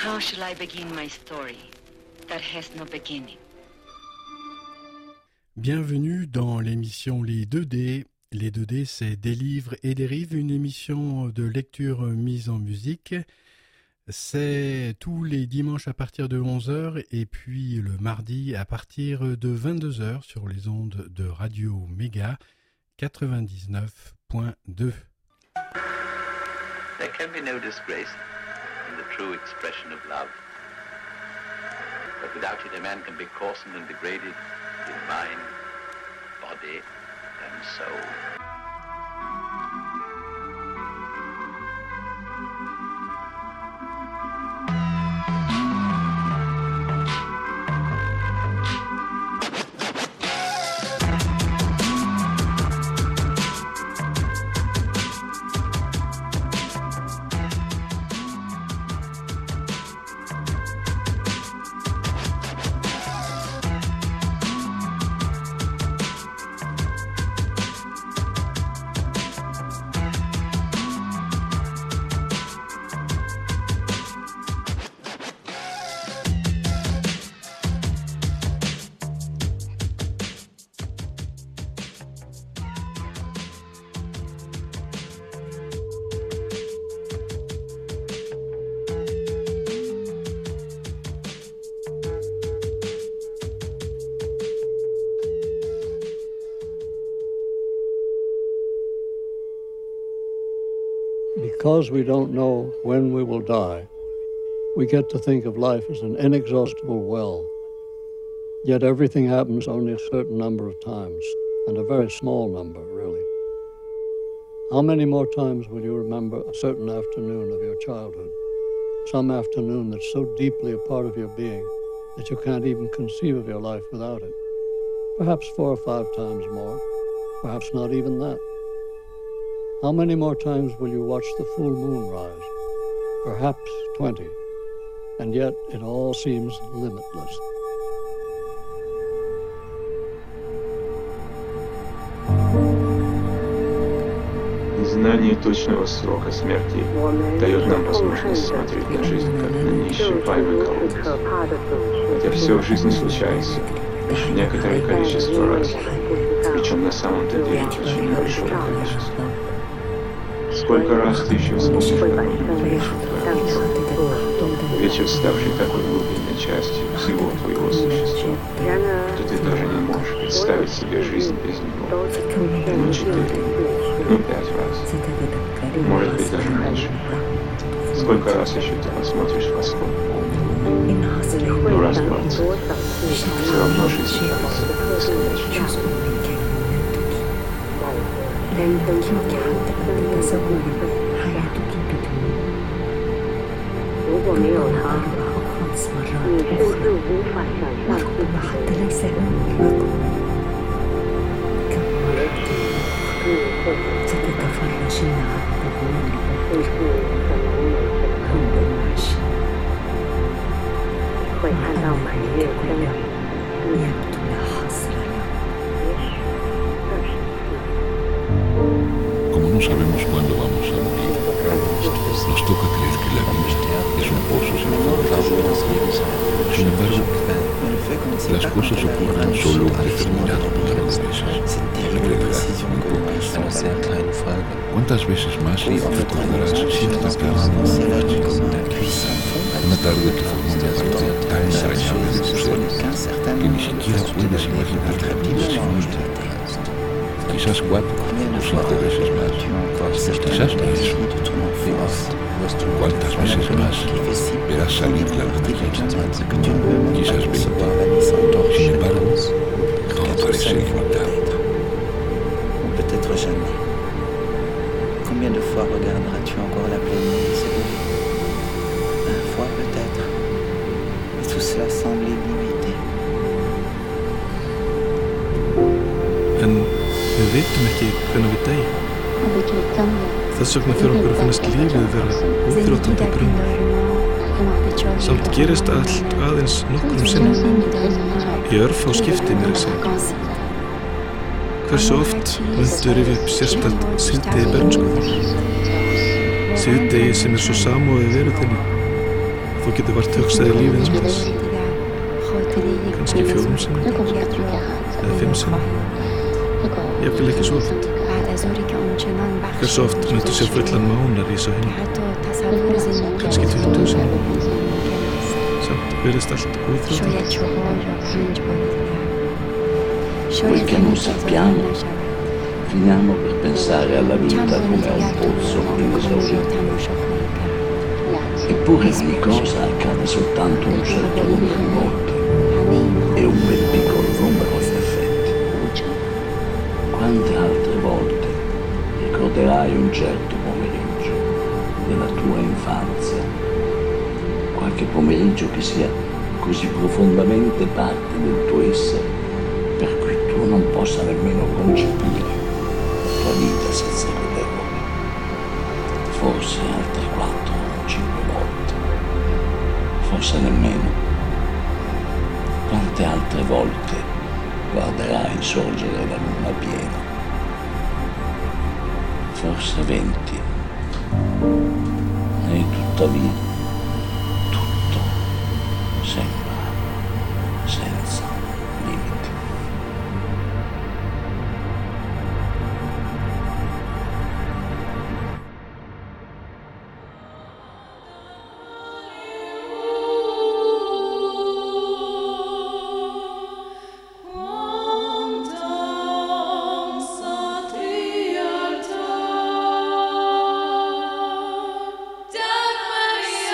How shall I begin my story that has no beginning? Bienvenue dans l'émission Les 2D. Les 2D, c'est Des livres et des rives, une émission de lecture mise en musique. C'est tous les dimanches à partir de 11h et puis le mardi à partir de 22h sur les ondes de Radio Méga 99.2. There can be no disgrace in the true expression of love. But without it a man can be coarsened and degraded in mind, body and soul. Because we don't know when we will die, we get to think of life as an inexhaustible well. Yet everything happens only a certain number of times, and a very small number, really. How many more times will you remember a certain afternoon of your childhood? Some afternoon that's so deeply a part of your being that you can't even conceive of your life without it. Perhaps 4 or 5 times more, perhaps not even that. How many more times will you watch the full moon rise? Perhaps 20. And yet it all seems limitless. Знание точного срока смерти дает нам возможность смотреть на жизнь как на неисчерпаемый колодец. Хотя все в жизни случается лишь некоторое количество раз, причем на самом-то деле очень небольшое количество. Сколько раз ты еще вспомнишь какой-нибудь вечер, ставший такой глубинной частью всего твоего существа, что ты даже не можешь представить себе жизнь без него. 4, 5 раз, может быть даже меньше. Сколько раз еще ты посмотришь в восход полный? Раз 20. Все равно жизнь кажется бесконечной. يمكنك حتى أن تتصوري حياتك بدون 如果没有他， 5 مرات 你甚至无法想象自 وربما 己 حتى ليس هناك رقم كم مرة ستتفرجين على ظهور 甚至可能有着 حب العشاء 会看到满月升起， يبدو لا حصر له. 也许这是 Como no sabemos cuándo vamos a morir, nos toca creer que la vida es un pozo sin fondo. Sin embargo, las cosas ocurren solo un determinado número de veces. En realidad, muy pocas. ¿Cuántas veces más recordarás cierta tarde? Una tarde que formó una parte tan entrañable de tu ser que ni siquiera puedes imaginarla viva sin un día. Quizás 4 o 5 veces más, quizás más. ¿Cuántas veces más verás salir la luz de ella? Quizás 20. Sin embargo, todo parece ilimitado. Peut-être jamais. Combien de fois regarderas-tu encore la pleine lune s'élever? 1 fois peut-être. Et tout cela semble illimité. Við vitum ekki hvernig við deyjum. Þess vegna fyrir okkur að finnast lífið vera útþrjótandi brunn. Samt gerist allt aðeins nokkrum sinnum. Í örfá skipti mér að segja. Hversu oft myndu rifja upp sérstakt síðdegi bernsku? Síðdegi sem svo samofið veru þinni. Þú getur vart hugsaði lífið um þess. Kannski 4 sinnum eða 5 sinnum. Jafnvel ekki svo oft. Hversu oft myndu sér fullan mánar í svo henni? Kannski 20 sinnum. Samt verðist allt óþrjóðilegt. Poiché non sappiamo, finiamo per pensare alla vita come a un pozzo inesaurito. Eppure ogni cosa accade soltanto un certo numero di volte e un bel piccolo numero in effetti. Quante altre volte ricorderai un certo pomeriggio della tua infanzia? Qualche pomeriggio che sia così profondamente parte del tuo essere per cui tu non possa nemmeno concepire la tua vita senza quell'errore. Forse altre 4 o 5 volte, forse nemmeno. Quante altre volte guarderai sorgere la luna piena? Forse 20. E tuttavia tutto sembra senza limiti. Maria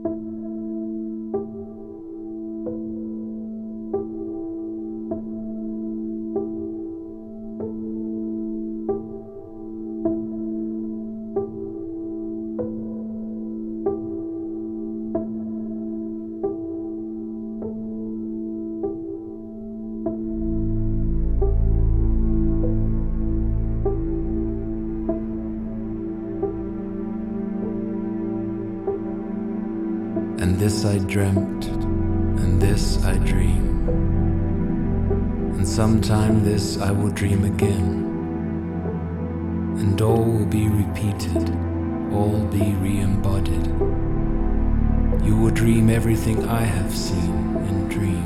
And this I dreamt, and this I dream, and sometime this I will dream again, and all will be repeated, all be re-embodied. You will dream everything I have seen in dream.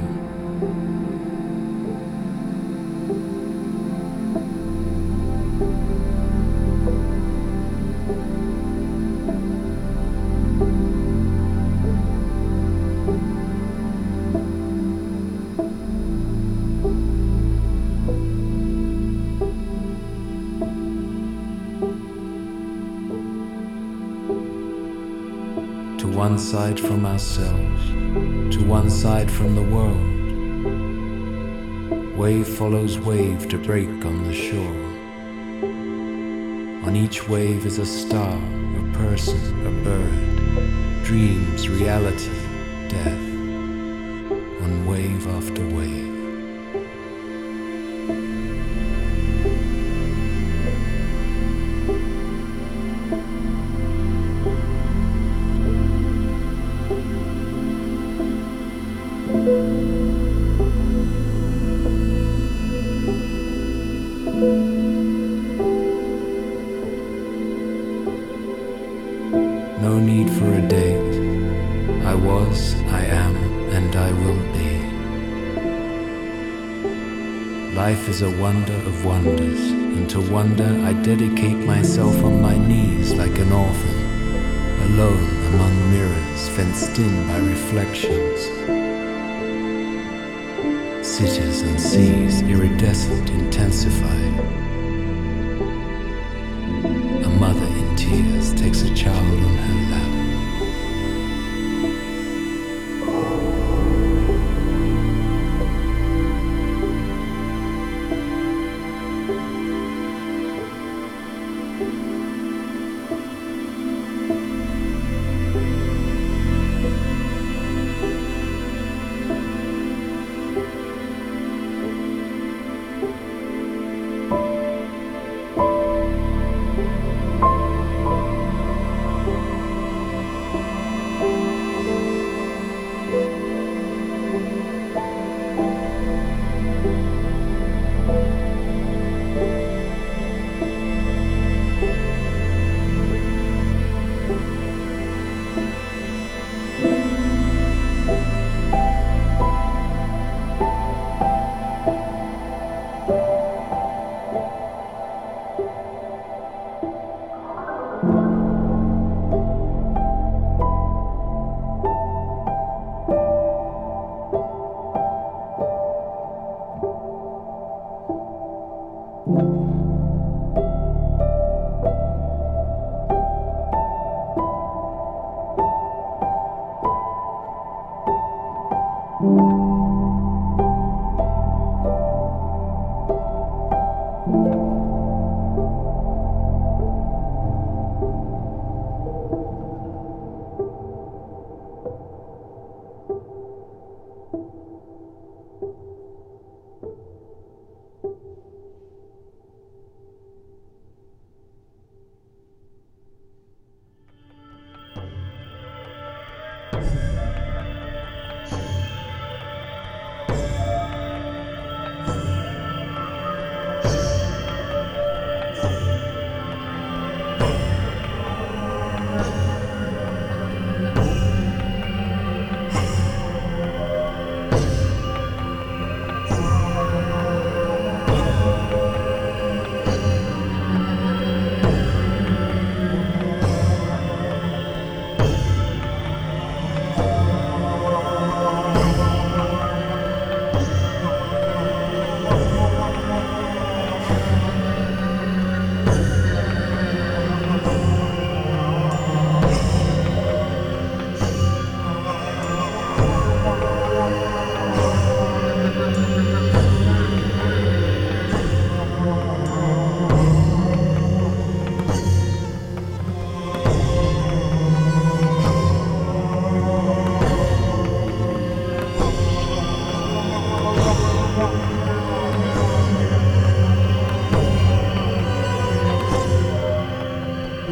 To one side from ourselves, to one side from the world. Wave follows wave to break on the shore. On each wave is a star, a person, a bird. Dreams, reality, death. On wave after wave. No need for a date. I was, I am, and I will be. Life is a wonder of wonders, and to wonder I dedicate myself on my knees like an orphan, alone among mirrors fenced in by reflections. Cities and seas iridescent intensify. A mother in tears takes a child on her lap.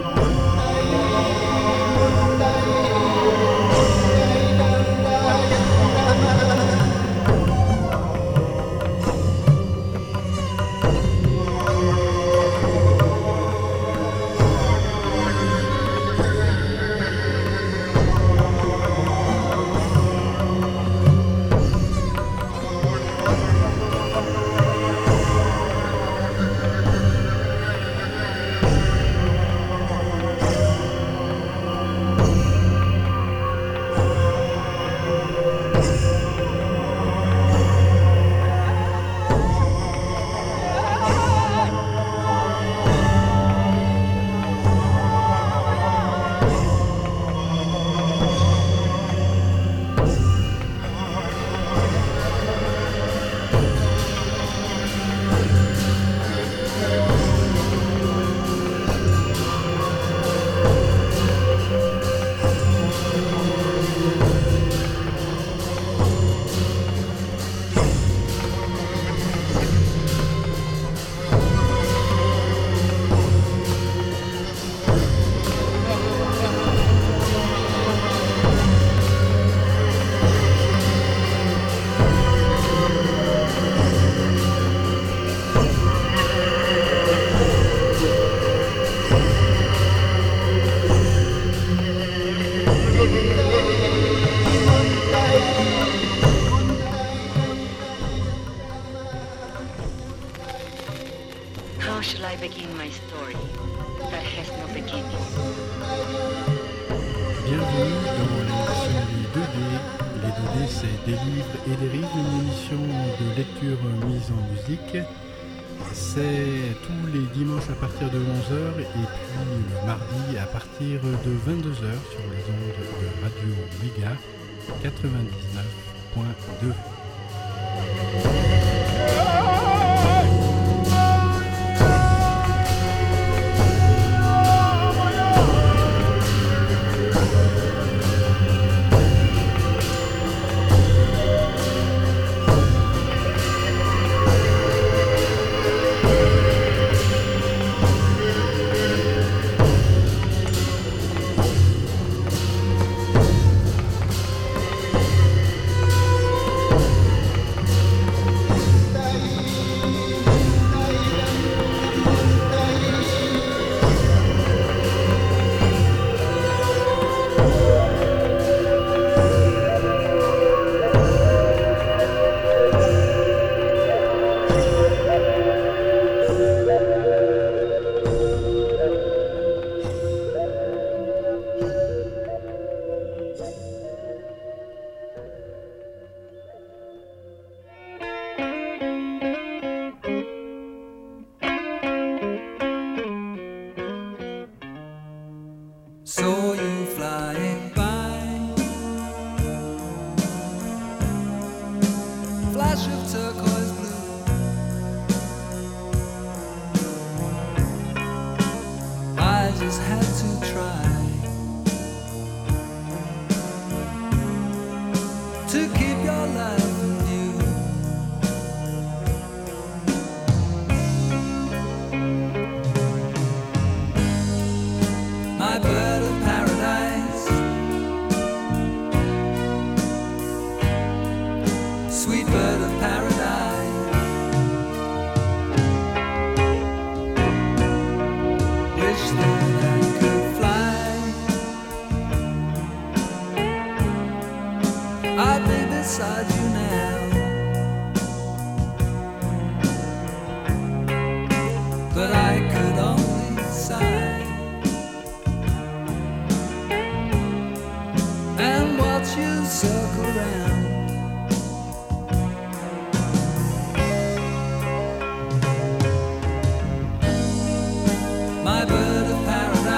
Des livres et des rives, une émission de lecture mise en musique. C'est tous les dimanches à partir de 11h et puis le mardi à partir de 22h sur les ondes de Radio Méga 99.2. My bird of paradise.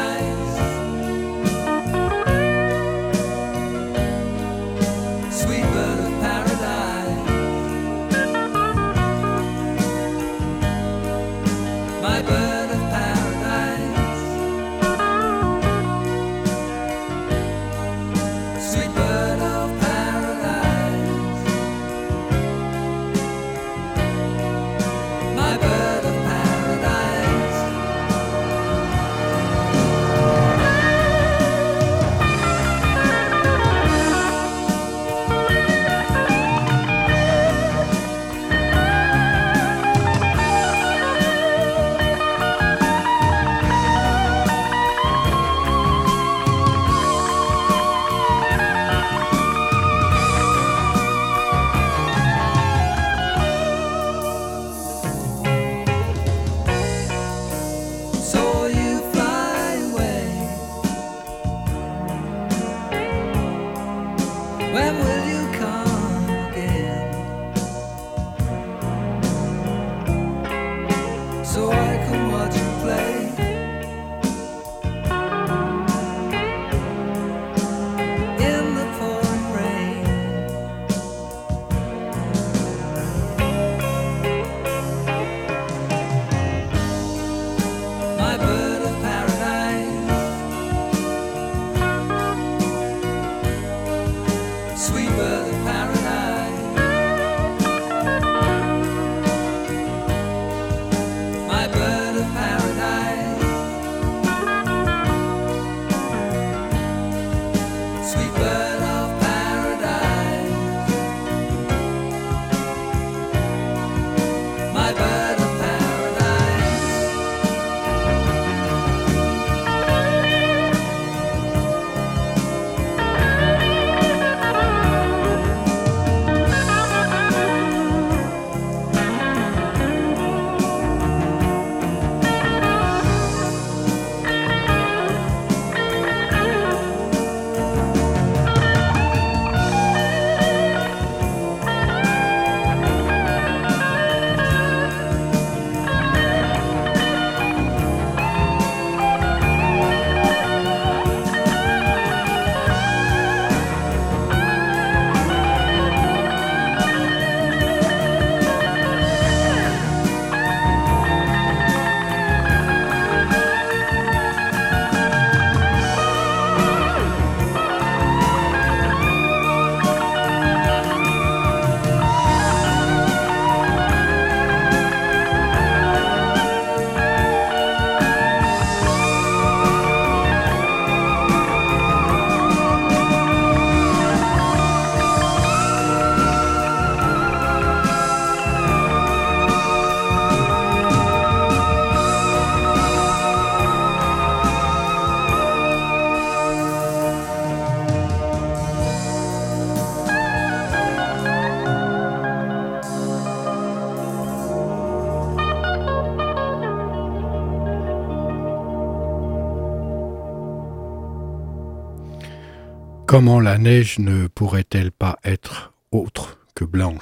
Comment la neige ne pourrait-elle pas être autre que blanche ?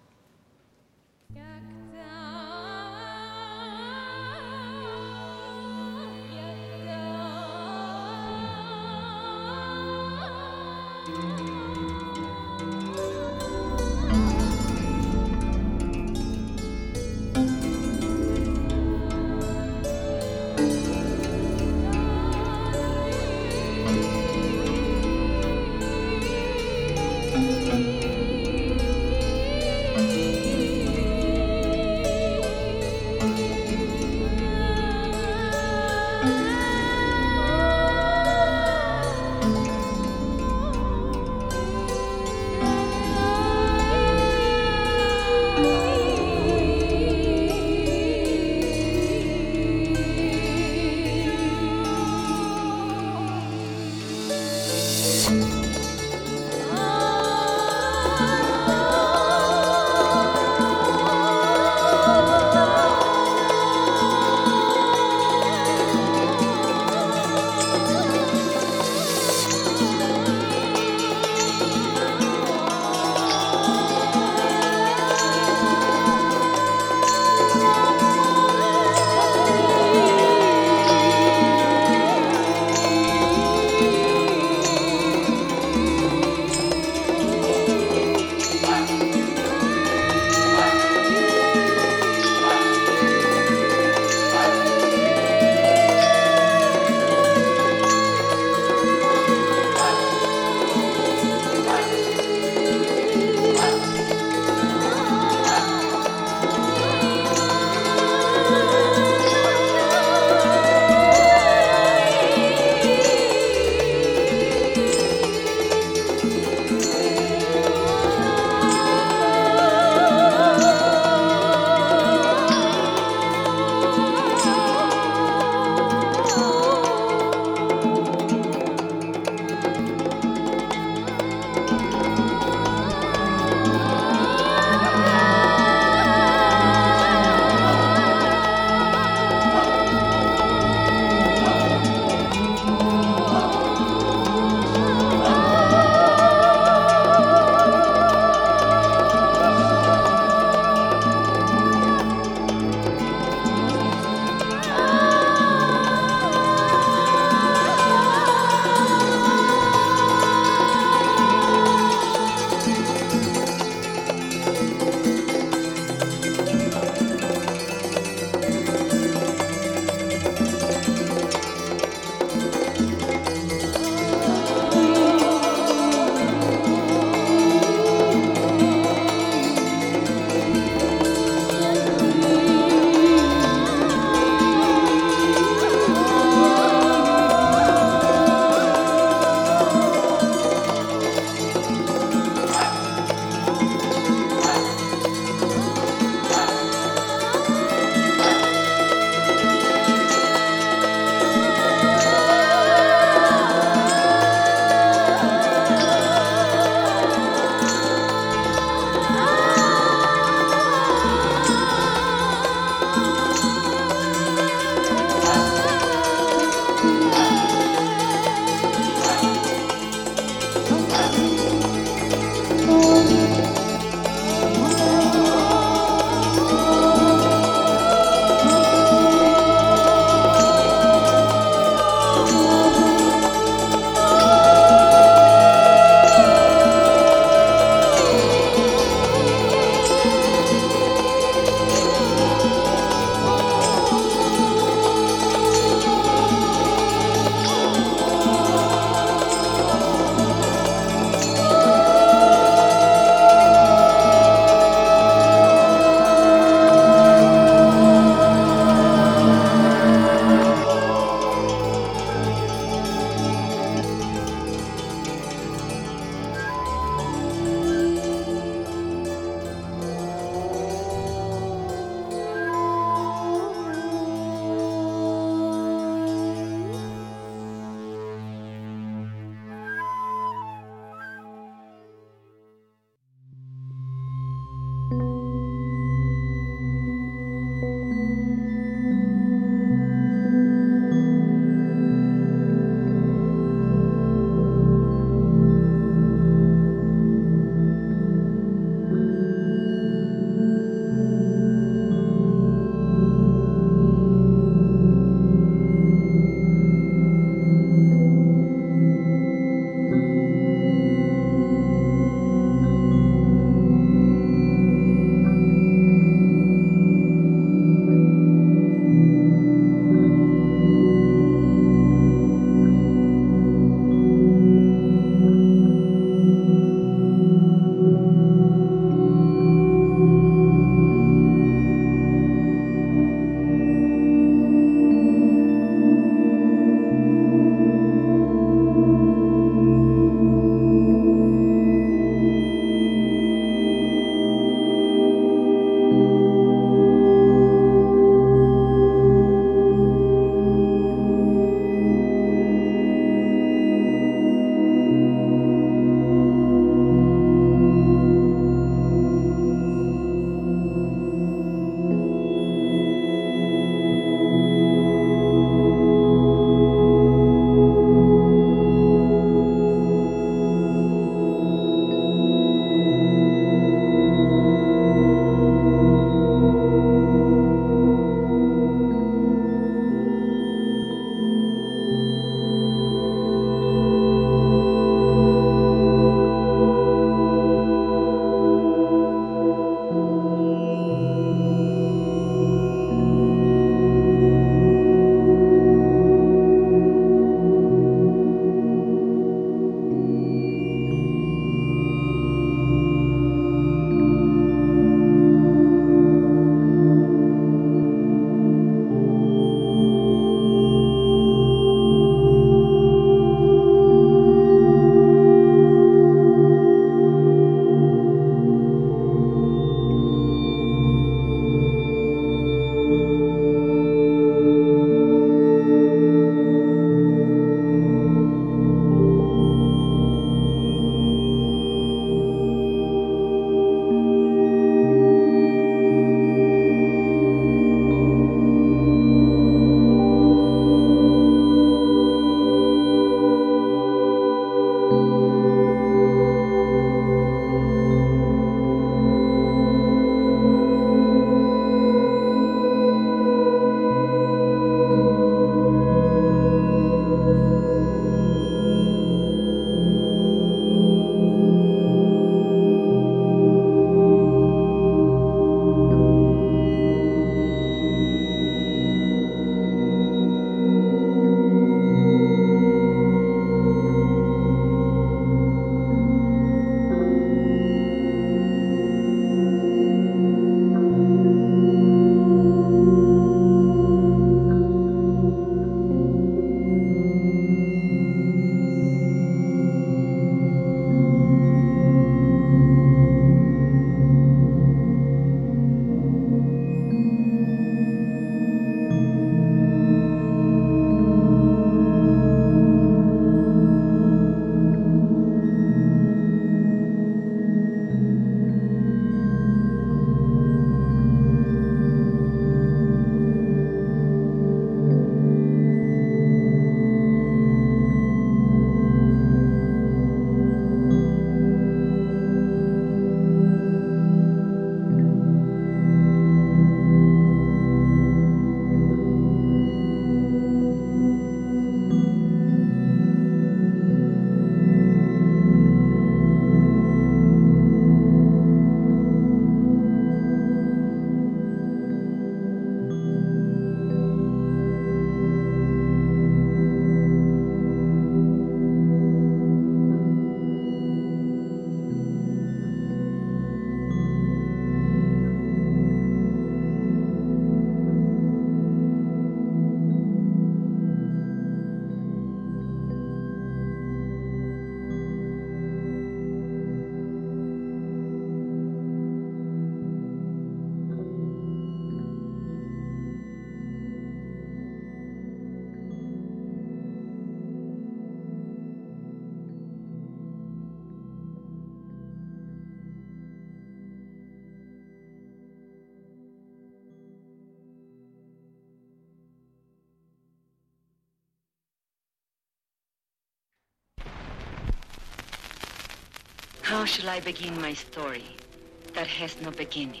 How shall I begin my story that has no beginning?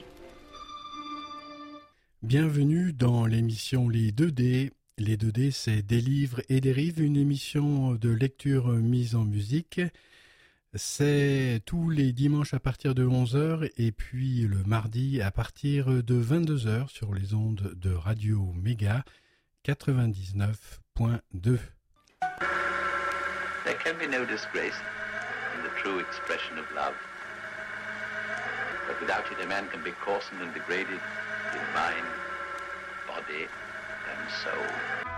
Bienvenue dans l'émission Les 2D. Les 2D, c'est Des livres et des rives, une émission de lecture mise en musique. C'est tous les dimanches à partir de 11h et puis le mardi à partir de 22h sur les ondes de Radio Méga 99.2. There can be no disgrace in the true expression of love. But without it, a man can be coarsened and degraded in mind, body, and soul.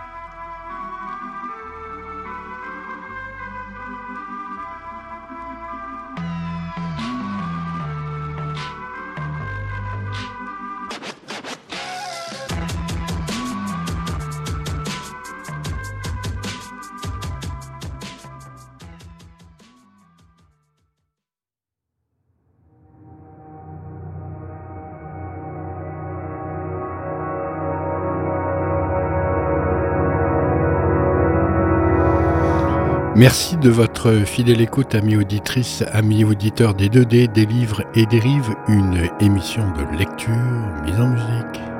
Merci de votre fidèle écoute, amis auditrices, amis auditeurs des 2D, des livres et des rives, une émission de lecture mise en musique.